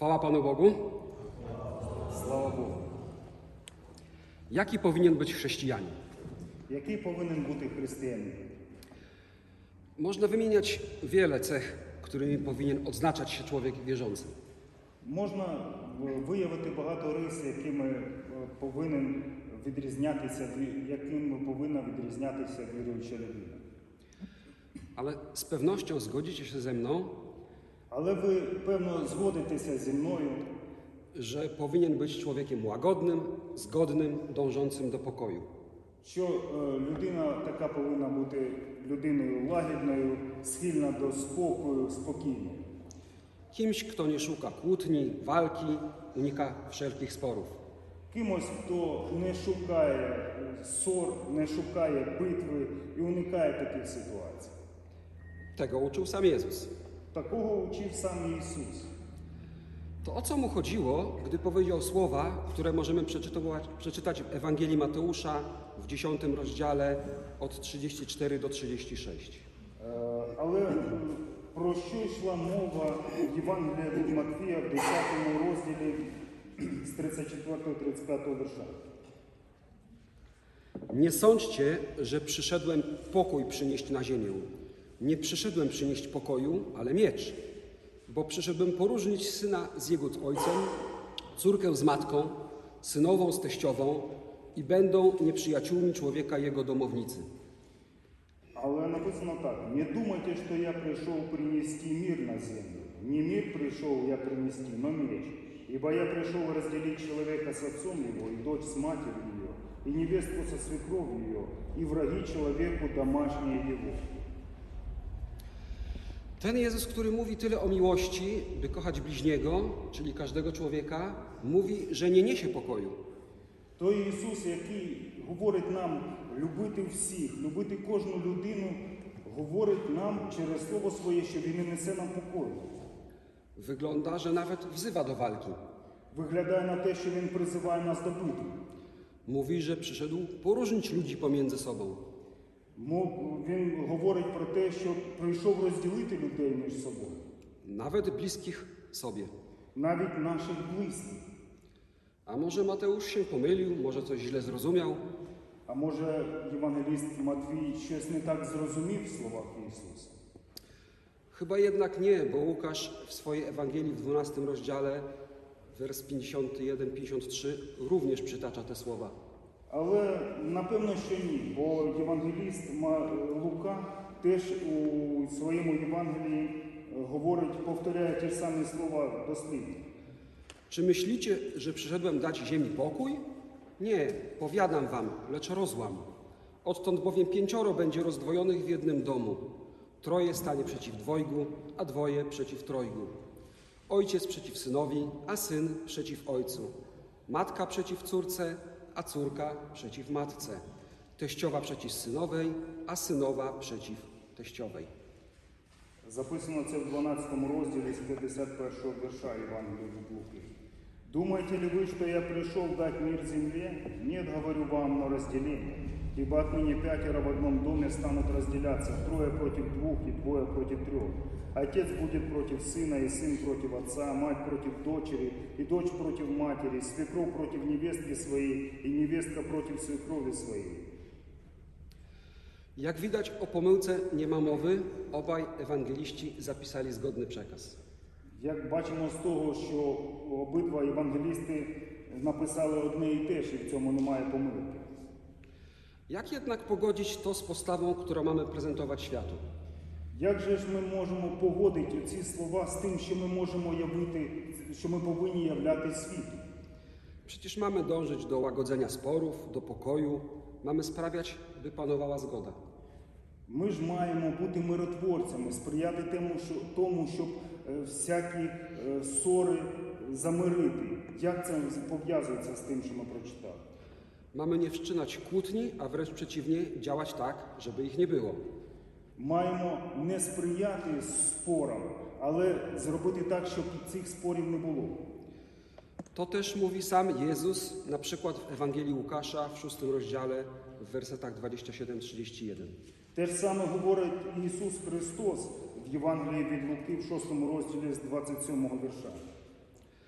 Chwała Panu Bogu. Слава Богу. Jaki powinien być chrześcijanin? Який повинен бути християнин? Można wymieniać wiele cech, którymi powinien odznaczać się człowiek wierzący. Можна виявити багато рис, якими повинна відрізнятися віруюча людина. Ale z pewnością zgodzicie się ze mną, Але ви, певно, згодитеся зі мною, że powinien być człowiekiem łagodnym, zgodnym, dążącym do pokoju. що людина така повинна бути людиною лагідною, схильна до спокою, спокійною. Kimś, kto nie szuka kłótni, walki, unika wszelkich sporów. Кимось, хто не шукає ссор, не шукає битви і уникає таких ситуацій. Tego uczył sam Jezus. Такого учив сам Ісус. To o co mu chodziło, gdy powiedział słowa, które możemy przeczytać w Ewangelii Mateusza w 10 rozdziale od 34 do 36. Але про що йшла мова в Євангелії від Матвія в 10 розділі з 34-35 wiersza? Nie sądźcie, że przyszedłem pokój przynieść na ziemię. Nie przyszedłem przynieść pokoju, ale miecz. Bo przyszedłem poróżnić syna z jego ojcem, córkę z matką, synową z teściową i będą nieprzyjaciółmi człowieka jego domownicy. Але написано так: «Не думайте, что я пришел принести мир на землю. Не мир пришел я принести, но меч. Ибо я пришел разделить человека с отцом его, и дочь с матерью ее, и невестку со свекровью ее, и враги человеку домашние его». Ten Jezus, który mówi tyle o miłości, by kochać bliźniego, czyli każdego człowieka, mówi, że nie niesie pokoju. Той Ісус, який говорить нам любити всіх, любити кожну людину, говорить нам через Слово Своє, що Він не несе нам покою. Wygląda, że nawet wzywa do walki. Виглядає на те, що Він призиває нас до битви. Mówi, że przyszedł poróżnić ludzi pomiędzy sobą. Він говорить про те, що прийшов розділити людей між собою. Nawet bliskich sobie. Навіть наших близьких. A może Mateusz się pomylił, może coś źle zrozumiał? А може євангеліст Матвій щось не так зрозумів в словах Ісуса? Chyba jednak nie, bo Łukasz w swojej Ewangelii w 12 rozdziale, wers 51-53, również przytacza te słowa. Але напевно, що ні, бо євангеліст Лука теж у своєму Євангелії говорить, повторяє ті ж самі слова дослівно. Czy myślicie, że przyszedłem dać ziemi pokój? Nie, powiadam wam, lecz rozłam. Odtąd bowiem 5 będzie rozdwojonych w jednym domu. 3 stanie przeciw 2, a 2 przeciw 3. Ojciec przeciw synowi, a syn przeciw ojcu. Matka przeciw córce, a córka przeciw matce. Teściowa przeciw synowej, a synowa przeciw teściowej. Записано це в 12 розділі з 51 вірша Євангелія від Луки. «Думаете ли вы, что я пришел дать мир земле? Нет, говорю вам, но разделение. Ибо отныне 5 в одном доме станут разделяться, 3 против 2 и 2 против 3. Отец будет против сына, и сын против отца, мать против дочери, и дочь против матери, свекровь против невестки своей, и невестка против свекрови своей». Jak widać, o pomyłce nie ma mowy, obaj ewangeliści zapisali zgodny przekaz. Як бачимо з того, що обидва євангелісти написали одне і те ж, і в цьому немає помилки. Jak jednak pogodzić to z postawą, którą mamy prezentować światu? Як же ж ми можемо погодити ці слова з тим, що ми можемо явити, що ми повинні являти світу? Przecież mamy dążyć do łagodzenia sporów, do pokoju, mamy sprawiać, by panowała zgoda. Ми ж маємо бути миротворцями, сприяти тому, щоб всякі ссори замирити. Як це пов'язується з тим, що ми прочитали? Mamy nie wszczynać kłótni, a wręcz przeciwnie, działać tak, żeby ich nie było. Маємо не сприяти спорам, але зробити так, щоб цих спорів не було. To też mówi sam Jezus, na przykład w Ewangelii Łukasza w 6 rozdziale, w wersetach 27-31. Те ж саме говорить Ісус Христос в Євангелії від Луки в 6 розділі з 27 вірша.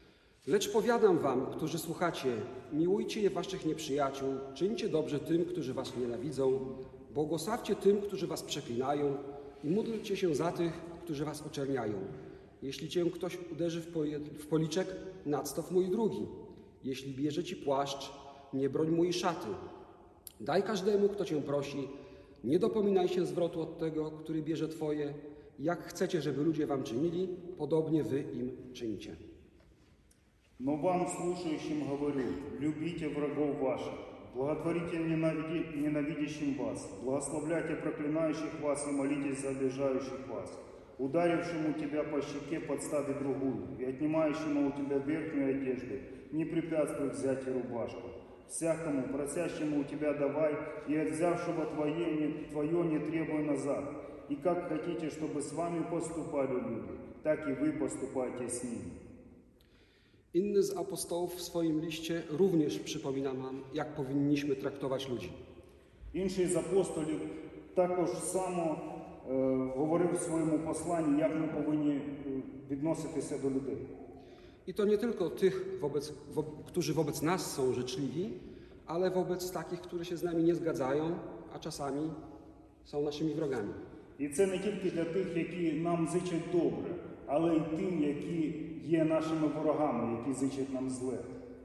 Lecz powiadam wam, którzy słuchacie, miłujcie waszych nieprzyjaciół, czyńcie dobrze tym, którzy was nienawidzą, błogosławcie tym, którzy was przeklinają i módlcie się za tych, którzy was oczerniają. Jeśli cię ktoś uderzy w policzek, nadstaw mu i drugi. Jeśli bierze ci płaszcz, nie broń mu i szaty. Daj każdemu, kto cię prosi, nie dopominaj się zwrotu od tego, który bierze twoje. Jak chcecie, żeby ludzie wam czynili, podobnie wy im czyńcie. Но вам, слушающим, говорю, любите врагов ваших, благотворите ненавидящим вас, благословляйте проклинающих вас и молитесь за обижающих вас. Ударившему тебя по щеке подстави другую, и отнимающему у тебя верхнюю одежду не препятствуй взять и рубашку. Всякому, просящему у тебя давай, и от взявшего твое не требуй назад. И как хотите, чтобы с вами поступали люди, так и вы поступайте с ними. Inny z apostołów w swoim liście również przypomina nam, jak powinniśmy traktować ludzi. Інший з апостолів також само говорив в своєму посланні, як ми повинні відноситися до людей. I to nie tylko tych, którzy wobec nas są życzliwi, ale wobec takich, którzy się z nami nie zgadzają, a czasami są naszymi wrogami. І це не тільки для тих, які нам зичать добре, але й тим, які є нашими ворогами, які зичать нам зле.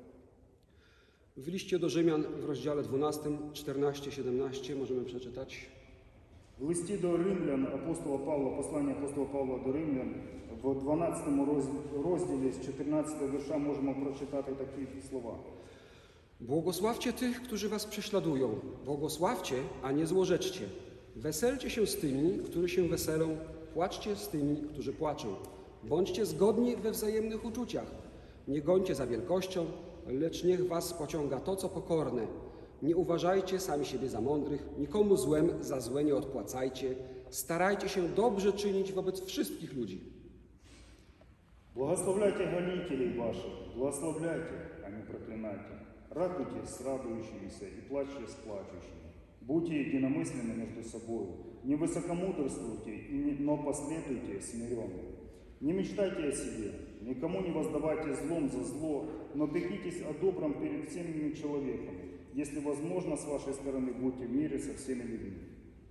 W liście do Rzymian w rozdziale 12, 14, 17 możemy przeczytać: В листі до римлян апостола Павла, послання апостола Павла до римлян, в 12 розділі з 14 вірша можемо прочитати такі слова. Błogosławcie tych, którzy was prześladują. Błogosławcie, a nie złorzeczcie. Weselcie się z tymi, którzy się weselą. Płaczcie z tymi, którzy płaczą. Bądźcie zgodni we wzajemnych uczuciach. Nie gońcie za wielkością, lecz niech was pociąga to, co pokorne. Nie uważajcie sami siebie za mądrych, nikomu złem za złe nie odpłacajcie. Starajcie się dobrze czynić wobec wszystkich ludzi. Благословляйте гонителей ваших, благословляйте, а не проклинайте. Радуйтесь с радующимися и плачьте с плачущими. Будьте единомысленны между собой. Не высокомудрствуйте, но последуйте смиренно. Не мечтайте о себе, никому не воздавайте злом за зло, но пекитесь о добром перед всеми человеками. Если возможно, с вашей стороны, будьте в мире со всеми людьми.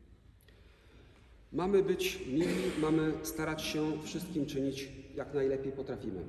Mamy być mili, mamy starać się wszystkim czynić jak najlepiej potrafimy.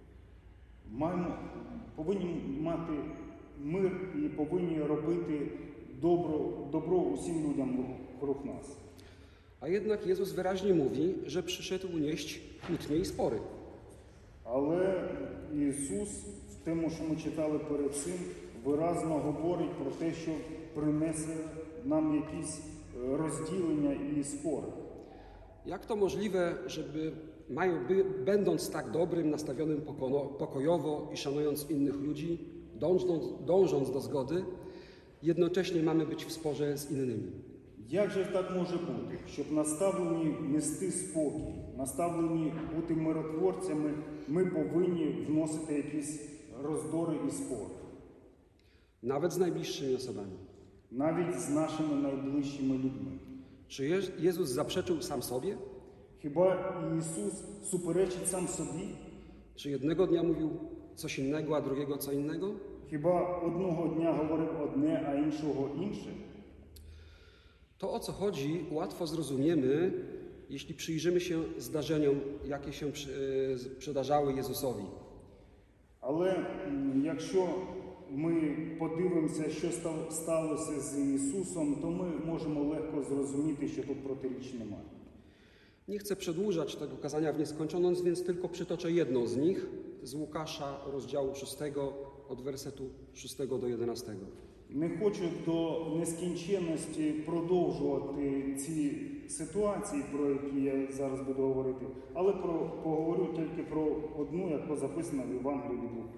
Повинні мати мир і повинні робити добро усім людям вокруг нас. A jednak Jezus wyraźnie mówi, że przyszedł nieść kłótnie i spory. Але Ісус, в тому, що ми читали перед цим, виразно говорить про те, що принесе нам якісь розділення і спори. Jak to możliwe, będąc tak dobrym, nastawionym pokojowo i szanując innych ludzi, dążąc do zgody, jednocześnie mamy być w sporze z innymi? Як же так може бути, щоб наставлені нести спокій, наставлені бути миротворцями, ми повинні вносити якісь роздори і спори? Nawet z najbliższymi osobami. Навіть з нашими найближчими людьми. Czy Jezus zaprzeczył sam sobie? Хіба Ісус суперечить сам собі? Czy jednego dnia mówił coś innego, a drugiego co innego? Хіба одного дня говорив одне, а іншого інше? To, o co chodzi, łatwo zrozumiemy, jeśli przyjrzymy się zdarzeniom, jakie się przydarzały Jezusowi. Але якщо ми подивимося, що сталося з Ісусом, то ми можемо легко зрозуміти, що тут протиріч немає. Nie chcę przedłużać tego kazania w nieskończoność, więc tylko przytoczę jedną z nich, z Łukasza, rozdziału 6, od wersetu 6 do 11. Не хочу до нескінченності продовжувати ці ситуації, про які я зараз буду говорити, але поговорю тільки про одну, яка записана в Євангелії від Луки.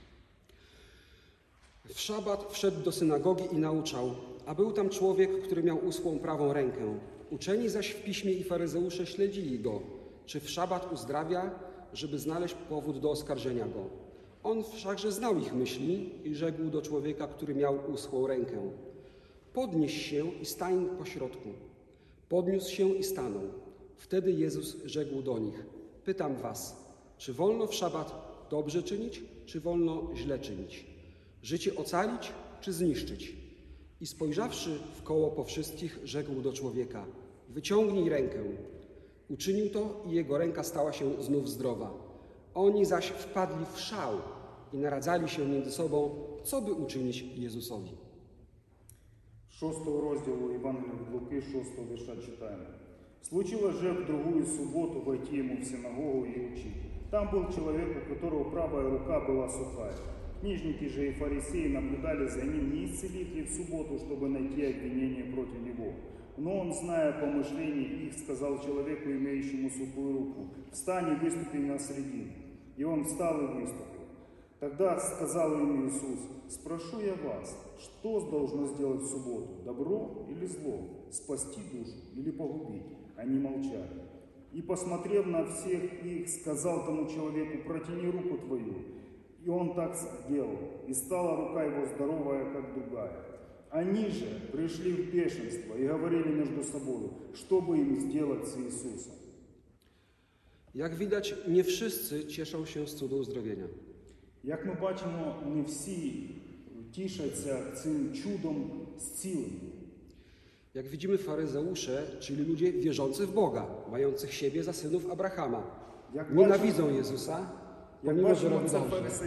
W szabat wszedł do synagogi i nauczał, a był tam człowiek, który miał uschłą prawą rękę. Uczeni zaś w piśmie i faryzeusze śledzili go, czy w szabat uzdrawia, żeby znaleźć powód do oskarżenia go. On wszakże znał ich myśli i rzekł do człowieka, który miał uschłą rękę: podnieś się i stań pośrodku. Podniósł się i stanął. Wtedy Jezus rzekł do nich: pytam was, czy wolno w szabat dobrze czynić, czy wolno źle czynić? Życie ocalić, czy zniszczyć? I spojrzawszy w koło po wszystkich, rzekł do człowieka: wyciągnij rękę. Uczynił to i jego ręka stała się znów zdrowa. Oni zaś wpadli w szał i naradzali się między sobą, co by uczynić Jezusowi. 6 розділу Євангелія від Луки, 6 вірша читаємо. «Случилось же в другую субботу войти ему в синагогу и учить. Там был человек, у которого правая рука была сухая. Книжники же и фарисеи наблюдали за ним, не исцелит ли в субботу, чтобы найти обвинение против него. Но он, зная помышления их, сказал человеку, имеющему сухую руку: встань и выступи на средину. И он встал и выступил. Тогда сказал им Иисус: спрошу я вас, что должно сделать в субботу, добро или зло, спасти душу или погубить? Они молчали. И, посмотрев на всех их, сказал тому человеку: протяни руку твою. И он так сделал, и стала рука его здоровая, как другая. Они же пришли в бешенство и говорили между собой, что бы им сделать с Иисусом. Jak widać, nie wszyscy cieszą się z cudu uzdrowienia. Як ми бачимо, не всі тішаться цим чудом зцілення. Jak widzimy, faryzeusze, czyli ludzie wierzący w Boga, mających siebie za synów Abrahama, nienawidzą Jezusa, pomimo że robi dobrze.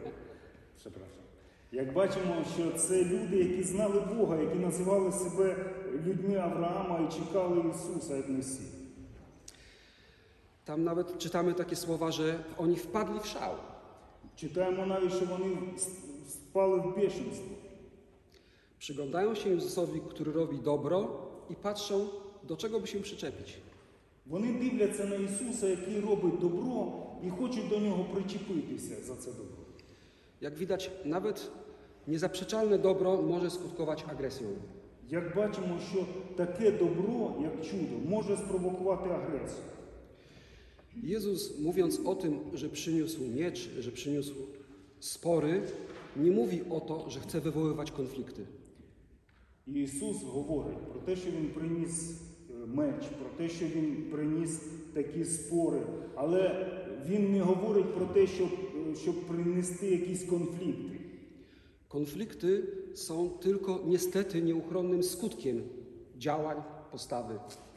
Як бачимо, що це люди, які знали Бога, які називали себе людьми Авраама і чекали Ісуса як Месію. Tam nawet czytamy takie słowa, że oni wpadli w szał. Читаємо навіть, що вони впали в бешенство. Przyglądają się Jezusowi, który robi dobro i patrzą, do czego by się przyczepić. Вони дивляться на Ісуса, який робить добро, і хочуть до нього причепитися за це добро. Jak widać, nawet niezaprzeczalne dobro może skutkować agresją. Як бачимо, що таке добро, як чудо, може спровокувати агресію. Jezus, mówiąc o tym, że przyniósł miecz, że przyniósł spory, nie mówi o to, że chce wywoływać konflikty. І Ісус говорить про те, що Він приніс меч, про те, що Він приніс такі спори, але Він не говорить про те, щоб принести якісь конфлікти. Konflikty są tylko niestety nieuchronnym skutkiem działań, postawy.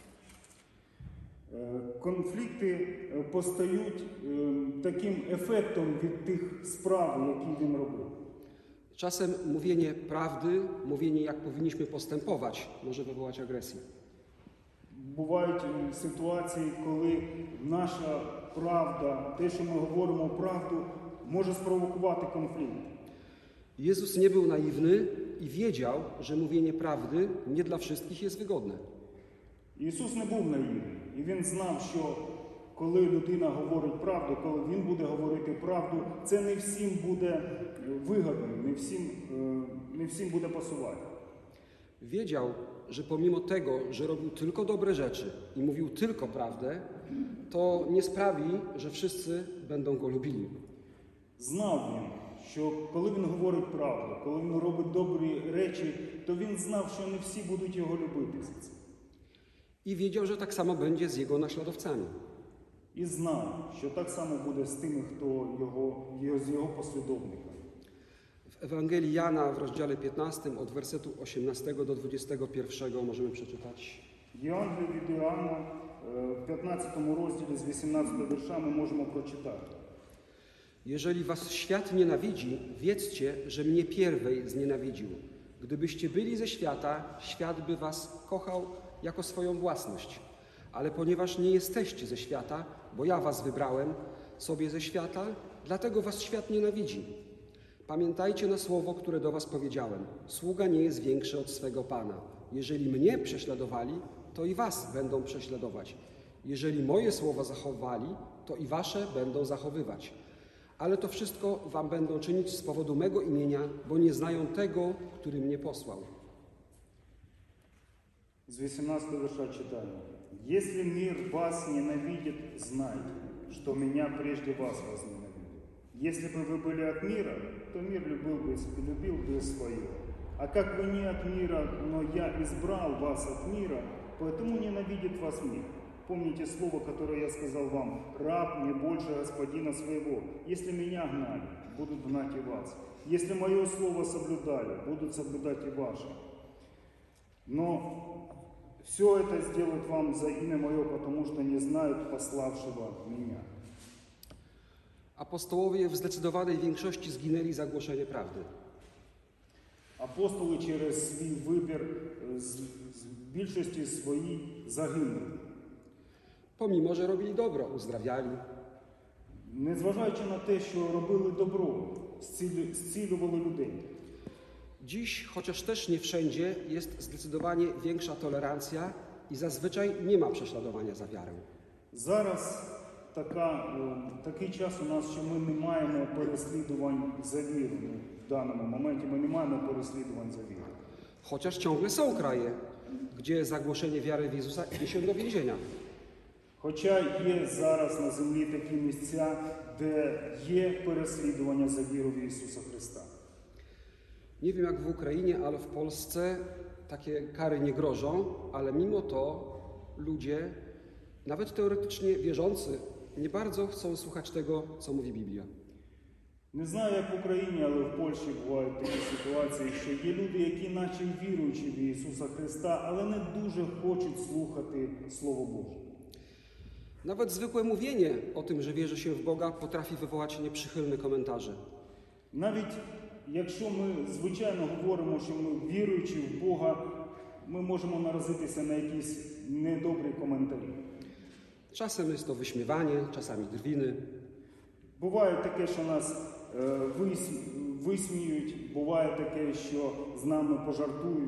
Конфлікти постають таким ефектом від тих справ, які він робив. Czasem mówienie prawdy, mówienie jak powinniśmy postępować, może wywołać agresję. Бувають ситуації, коли наша правда, те, що ми говоримо правду, може спровокувати конфлікт. Jezus nie był naiwny i wiedział, że mówienie prawdy nie dla wszystkich jest wygodne. Ісус не був наївний, і Він знав, що коли людина говорить правду, коли Він буде говорити правду, це не всім буде вигодно, не всім буде пасувати. Wiedział, że pomimo tego, że robił tylko dobre rzeczy i mówił tylko prawdę, to nie sprawi, że wszyscy będą go lubili. Знав він, що коли він говорить правду, коли він робить добрі речі, то він знав, що не всі будуть його любити за це. I wiedział, że tak samo będzie z jego naśladowcami. І знав, що так само буде з тими, хто з його послідовниками. W Ewangelii Jana w rozdziale 15 od wersetu 18 do 21 możemy przeczytać. Євангелія від Іоанна в 15 розділі з 18 вірша ми можемо прочитати. Jeżeli was świat nienawidzi, wiedzcie, że mnie pierwej znienawidził. Gdybyście byli ze świata, świat by was kochał jako swoją własność. Ale ponieważ nie jesteście ze świata, bo ja was wybrałem sobie ze świata, dlatego was świat nienawidzi. Pamiętajcie na słowo, które do was powiedziałem. Sługa nie jest większy od swego Pana. Jeżeli mnie prześladowali, to i was będą prześladować. Jeżeli moje słowa zachowali, to i wasze będą zachowywać. Ale to wszystko wam będą czynić z powodu mego imienia, bo nie znają tego, który mnie posłał. З 18 вірша читаємо. «Если мир вас ненавидит, знайте, что меня прежде вас возненавидел. Если бы вы были от мира, то мир любил бы свое. А как вы не от мира, но я избрал вас от мира, поэтому ненавидит вас мир. Помните слово, которое я сказал вам: «Раб не больше господина своего. Если меня гнали, будут гнать и вас. Если мое слово соблюдали, будут соблюдать и ваше». Но все это сделают вам за имя мое, потому что не знают пославшего меня. Apostołowie w zdecydowanej większości zginęli za głoszenie prawdy. Апостоли через свій вибір з більшості своїй загинули. Pomimo, że robili dobro, uzdrawiali, Незважаючи на те, що робили добро, зцілювали людей. Dziś, chociaż też nie wszędzie, jest zdecydowanie większa tolerancja i zazwyczaj nie ma prześladowania za wiarę. Зараз такий час у нас, що ми не маємо переслідувань за віру. В даному моменті ми не маємо переслідувань за віру. Chociaż ciągle są kraje, gdzie za głoszenie wiary w Jezusa idzie się do więzienia. Хоча є зараз на землі такі місця, де є переслідування за віру в Ісуса Христа. Nie wiem jak w Ukrainie, ale w Polsce takie kary nie grożą, ale mimo to ludzie, nawet teoretycznie wierzący, nie bardzo chcą słuchać tego, co mówi Biblia. Не знаю, як в Україні, але в Польщі бувають такі ситуації, що є люди, які наче віруючі в Ісуса Христа, але не дуже хочуть слухати Слово Боже. Nawet zwykłe mówienie o tym, że wierzy się w Boga, potrafi wywołać nieprzychylne komentarze. Навіть якщо ми, звичайно, говоримо, що ми віруючі в Бога, ми можемо наразитися на якісь недобрі коментарі. Czasem jest to wyśmiewanie, czasami drwiny. Буває таке, що нас висміють, буває таке, що з нами пожартують.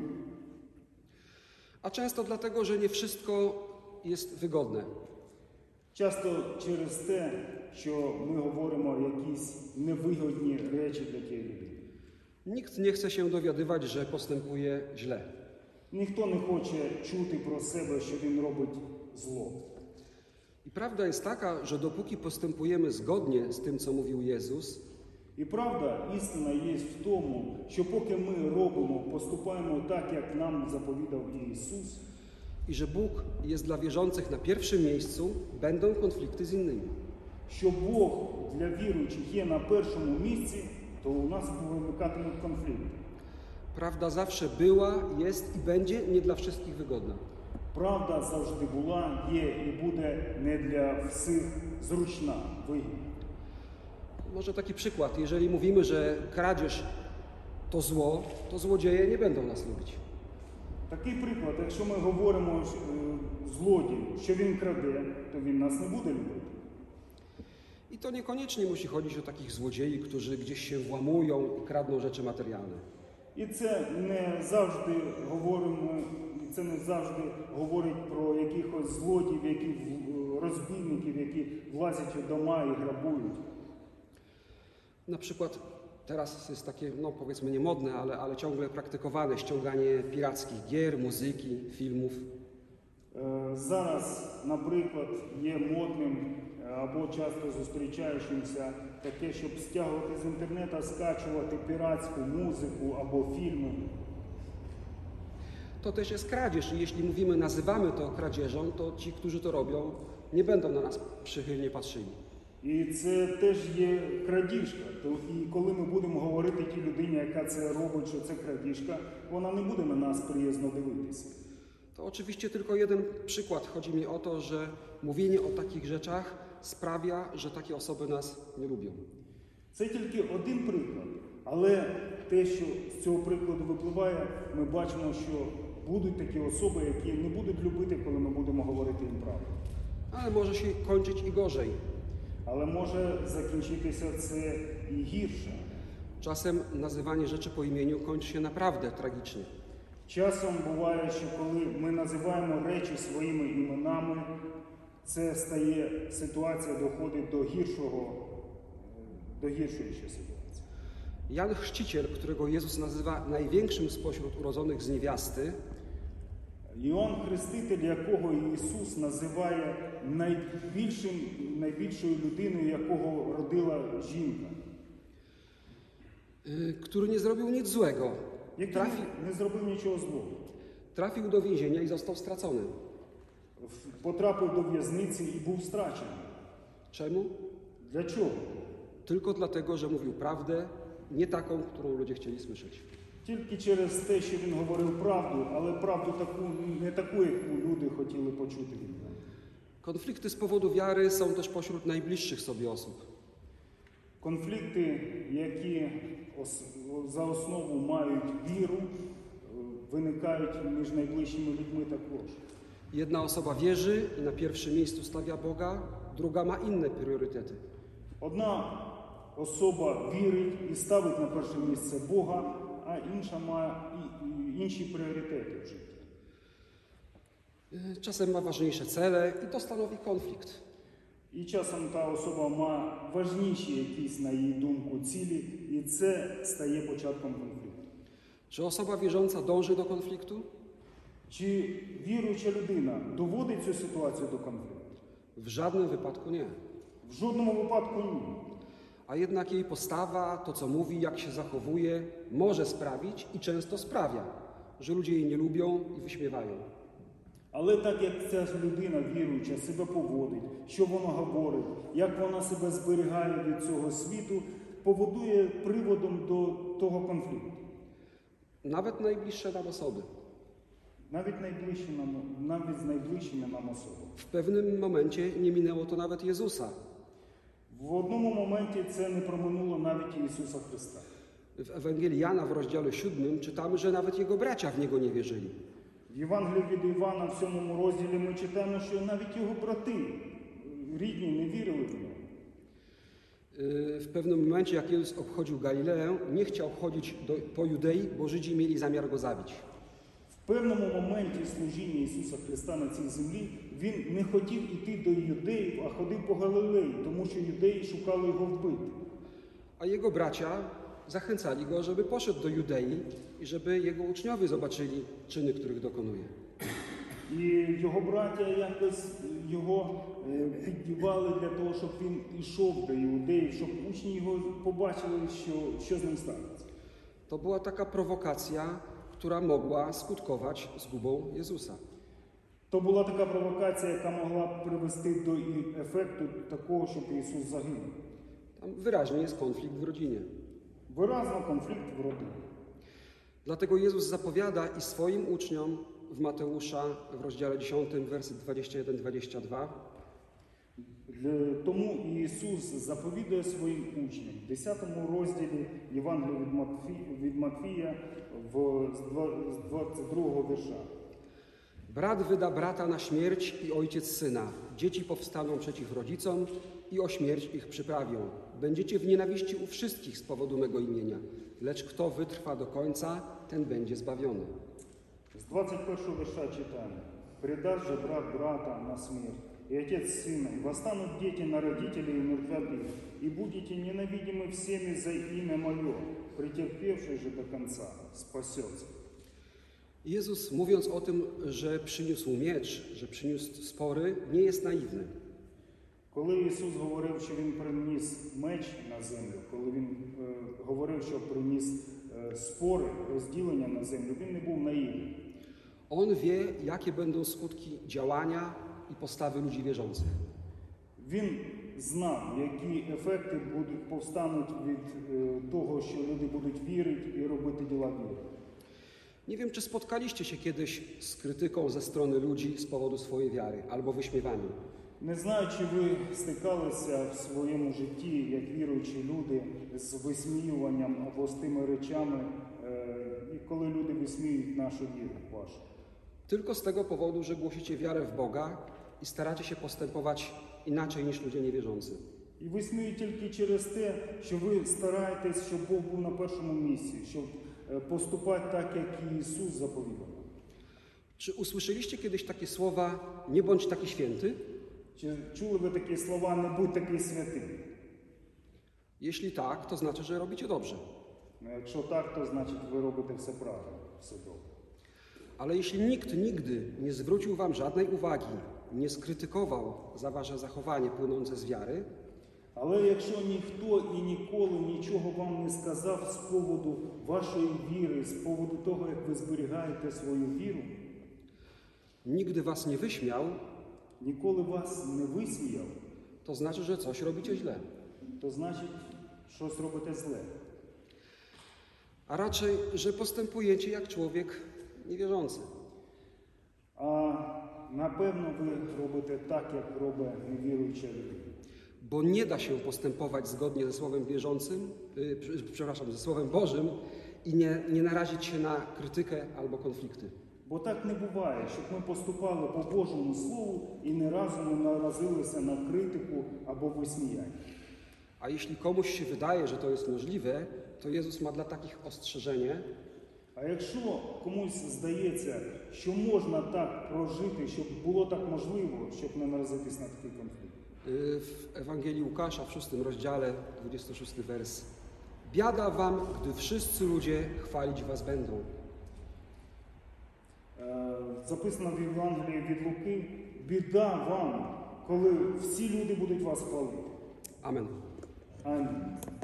A często dlatego, że nie wszystko jest wygodne. Часто через те, що ми говоримо якісь невигодні речі для тієї людини. Nikt nie chce się dowiadywać, że postępuje źle. Ніхто не хоче чути про себе, що він робить зло. I prawda jest taka, że dopóki postępujemy zgodnie z tym, co mówił Jezus, І правда, істина є в тому, що поки ми робимо, поступаємо так, як нам заповідав Ісус, i że Bóg jest dla wierzących na pierwszym miejscu, będą konflikty z innymi. що Бог для віруючих є на першому місці, то у нас виникатимуть конфлікти. Prawda zawsze była, jest i będzie nie dla wszystkich wygodna. Правда завжди була, є і буде не для всіх зручна, вигідна. Może taki przykład. Jeżeli mówimy, że kradzież to zło, to złodzieje nie będą nas lubić. Такий приклад, якщо ми говоримо злодій, що він краде, то він нас не буде любити. I to niekoniecznie musi chodzić o takich złodziei, którzy gdzieś się włamują i kradną rzeczy materialne. І це не завжди говорить про якихось злодіїв, розбійників, які влазять у дома і грабують. Na przykład teraz jest takie, no powiedzmy nie modne, ale ciągle praktykowane ściąganie pirackich gier, muzyki, filmów. Зараз, наприклад, є модним або часто зустрічаючимся таке, щоб стягувати з інтернету, скачувати піратську музику або фільми. To też jest kradzież i jeśli mówimy, nazywamy to kradzieżą, to ci, którzy to robią, nie będą na nas przychylnie patrzyli. І це теж є крадіжка. І коли ми будемо говорити тій людині, яка це робить, що це крадіжка, вона не буде на нас приязно дивитися. To oczywiście tylko jeden przykład. Chodzi mi o to, że mówienie o takich rzeczach sprawia, że takie osoby nas nie lubią. Це тільки один приклад, але те, що з цього прикладу випливає, ми бачимо, що будуть такі особи, які не будуть любити, коли ми будемо говорити їм правду. Ale może się kończyć i gorzej. Але може закінчитися це і гірше. Czasem nazywanie rzeczy po imieniu kończy się naprawdę tragicznie. Часом буває, що коли ми називаємо речі своїми іменами, це стає, ситуація доходить до гіршої ще ситуації. Jan Chrzciciel, którego Jezus nazywa największym spośród urodzonych z niewiasty, Іоанн Хреститель, якого Ісус називає найбільшою людиною, якого родила жінка, który nie zrobił nic złego, який не зробив нічого злого. trafił do więzienia i został stracony. потрапив до в'язниці і був страчений. Czemu? Для чого? Tylko dlatego, że mówił prawdę, nie taką, którą ludzie chcieli słyszeć. Тільки через те, що він говорив правду, але правду не таку, яку люди хотіли почути від нього. Konflikty z powodu wiary są też pośród najbliższych sobie osób. Конфлікти, які за основу мають віру, виникають між найближчими людьми також. Jedna osoba wierzy i na pierwszym miejscu stawia Boga, druga ma inne priorytety. Одна особа вірить і ставить на перше місце Бога, а інша має інші пріоритети в житті. Czasem ma ważniejsze cele i to stanowi konflikt. І часом та особа має важніші якісь, на її думку, цілі, і це стає початком конфлікту. Czy osoba wierząca dąży do konfliktu? Чи віруюча людина доводить цю ситуацію до конфлікту? W żadnym wypadku nie. В жодному випадку ні. A jednak jej postawa, to co mówi, jak się zachowuje, może sprawić i często sprawia, że ludzie jej nie lubią i wyśmiewają. Але так як ця людина віруюча себе поводить, що вона говорить, як вона себе зберігає від цього світу, поводує приводом до того конфлікту. Nawet najbliższe nam osoby. Навіть з найближчими нам особами. W pewnym momencie nie minęło to nawet Jezusa. В одному моменті це не проминуло навіть Ісуса Христа. W Ewangelii Jana w rozdziale 7 czytamy, że nawet jego bracia w Niego nie wierzyli. В Євангелії від Івана в 7 розділі ми читаємо, що навіть його брати рідні не вірили в нього. W pewnym momencie, jak Jezus obchodził Galileę, nie chciał chodzić po Judei, bo Żydzi mieli zamiar go zabić. В певному моменті служіння Ісуса Христа на цій землі Він не хотів іти до юдеїв, а ходив по Галилеї, тому що юдеї шукали його вбити. A jego bracia zachęcali go, żeby poszedł do Judei i żeby jego uczniowie zobaczyli czyny, których dokonuje. І його браття якось його піддівали для того, щоб він йшов до іудеїв, щоб учні його побачили, що з ним станеться. To była taka prowokacja, która mogła skutkować zgubą Jezusa. То була така провокація, яка могла привести до ефекту такого, щоб Ісус загинув. Tam wyraźnie jest konflikt w rodzinie. Виразно конфлікт в родині. Dlatego Jezus zapowiada i swoim uczniom w Mateusza w rozdziale 10, werset 21-22, Тому Ісус заповідує своїм учням в 10 розділі Євангелія від Матфія з 22 вірша. Brat wyda brata na śmierć i ojciec syna. Dzieci powstaną przeciw rodzicom i o śmierć ich przyprawią. Będziecie w nienawiści u wszystkich z powodu mego imienia. Lecz kto wytrwa do końca, ten będzie zbawiony. З 21 вірша читаємо. «Предаст же брат брата на смерть, и отец сына, и восстанут дети на родителей и умертвят их, и будете ненавидимы всеми за имя Мое, претерпевший же до конца спасется». Jezus, mówiąc o tym, że przyniósł miecz, że przyniósł spory, nie jest naiwny. Коли Ісус говорив, що Він приніс меч на землю, коли Він говорив, що приніс спори, розділення на землю, Він не був наївним. On wie, jakie będą skutki działania i postawy ludzi wierzących. Він знав, які ефекти повстануть від того, що люди будуть вірити і робити діла віри. Nie wiem, czy spotkaliście się kiedyś z krytyką ze strony ludzi z powodu swojej wiary albo wyśmiewaniem. Не знаю, чи ви стикалися в своєму житті, як віруючі люди, з висміюванням або з тими речами, коли люди висміюють нашу віру вашу. Tylko z tego powodu, że głosicie wiarę w Boga i staracie się postępować inaczej niż ludzie niewierzący. І висміюють тільки через те, що ви стараєтесь, щоб Бог був на першому місці, щоб поступати так, як і Ісус заповідав. Czy usłyszeliście kiedyś takie słowa, nie bądź taki święty? Чи чули ви такі слова, не будь такий святий? Jeśli tak, to znaczy, że robicie dobrze. Ну, якщо так, то значить ви робите все правильно, все добре. Ale jeśli nikt nigdy nie zwrócił wam żadnej uwagi, nie skrytykował za wasze zachowanie płynące z wiary, Але якщо ніхто і ніколи нічого вам не сказав з поводу вашої віри, з поводу того, як ви зберігаєте свою віру, nigdy was nie wyśmiał, ніколи вас не висміяв, to znaczy, że coś robicie źle. то значить, щось робите зле. A raczej, że postępujecie jak człowiek niewierzący. А напевно ви робите так, як робить невіруюча людина. Bo nie da się postępować zgodnie ze Słowem wierzącym, ze Słowem Bożym i nie narazić się na krytykę albo konflikty. Бо так не буває, щоб ми поступали по Божому Слову і ні разу не наразилися на критику або висміяння. A jeśli komuś się wydaje, że to jest możliwe, to Jezus ma dla takich ostrzeżenie, А якщо комусь здається, що можна так прожити, щоб було так можливо, щоб не наразитись на такий конфлікт. w Ewangelii Łukasza w 6 rozdziale, 26 wers. Biada wam, gdy wszyscy ludzie chwalić was będą. Записано в Євангелії від Луки: біда вам, коли всі люди будуть вас хвалити. Amen. Амінь.